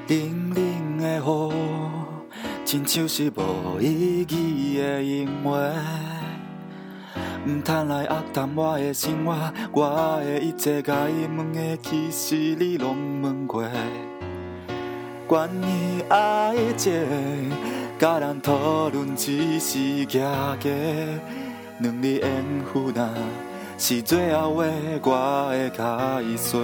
冷冷的雨，亲像是无意义的音乐。唔通来压淡我的生活，我的一切该问的，其实你拢问过。关于爱情，甲人讨论只是假假，两字缘负担是最后话，我会开说。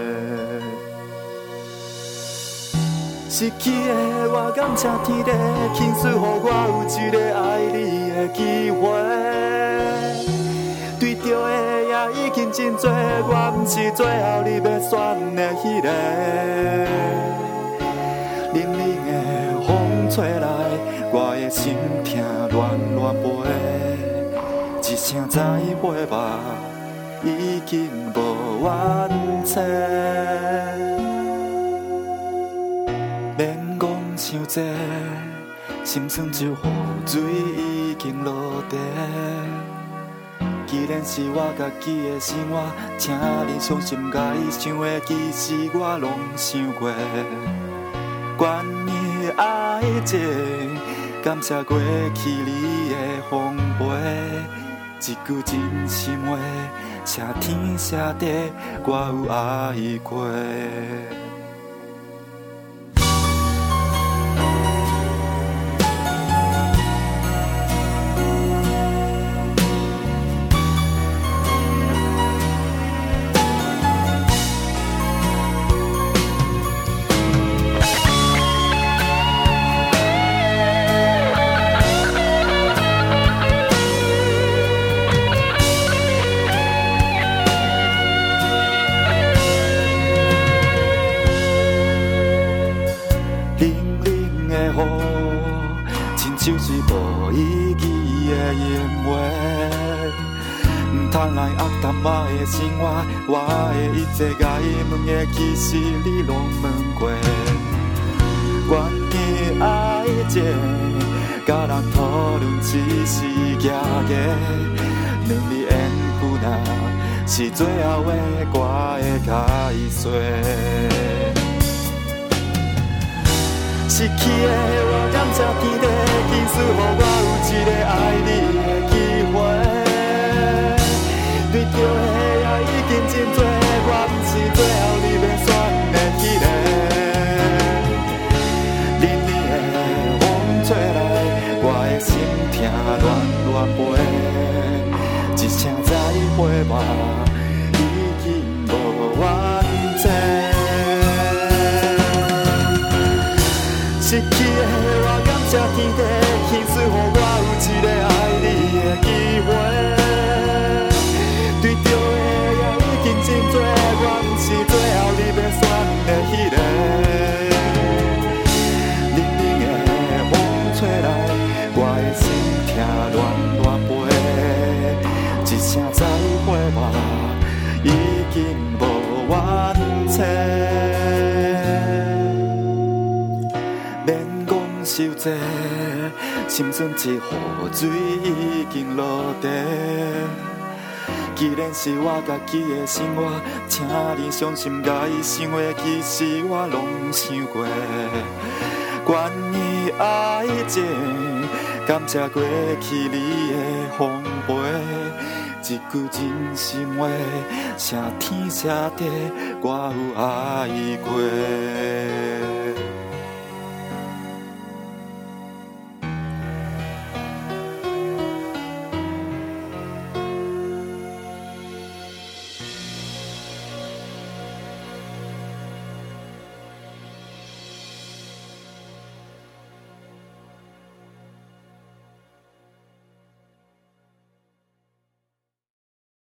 失去的我感谢天地，轻水予我有一个爱你的机会。对着的也已经真多，我不是最后你要选的迄个。冷冷的风吹来，我的心痛乱乱飞，一声再会吧，已经无完整。免讲伤济，心酸就雨水已经落地。既然是我家己的生活，请你相信甲伊想的，其实我拢想过。关于爱情，感谢过去你的丰陪，一句真心话，谢天谢地，我有爱过。就是无意义的音乐，唔通来压淡我的生活，我的一切该问的，其实你拢问过。关于爱情，甲人讨论只是假假，两字缘负担是最后的，我会开说。失去的我感谢天地，轻水予我有一个爱你的机会。对着的也已经真多，我不是最后你要选的迄个。冷冷的风吹来，我的心痛乱乱飞，一声再会吧，已经无完整。失去的我感谢天地，轻水予我有一个爱你的机会。对着的也已经真多，我不是最后你要选的迄个。冷冷的风吹来，我的心痛乱乱飞，一声再会吧，已经无完整。受济，心酸一雨水已经落地。既然是我家己的生活，请你相信甲伊想的，其实我拢想过。关于爱情，感谢过去你的丰陪，一句真心话，谢天谢地，我有爱过。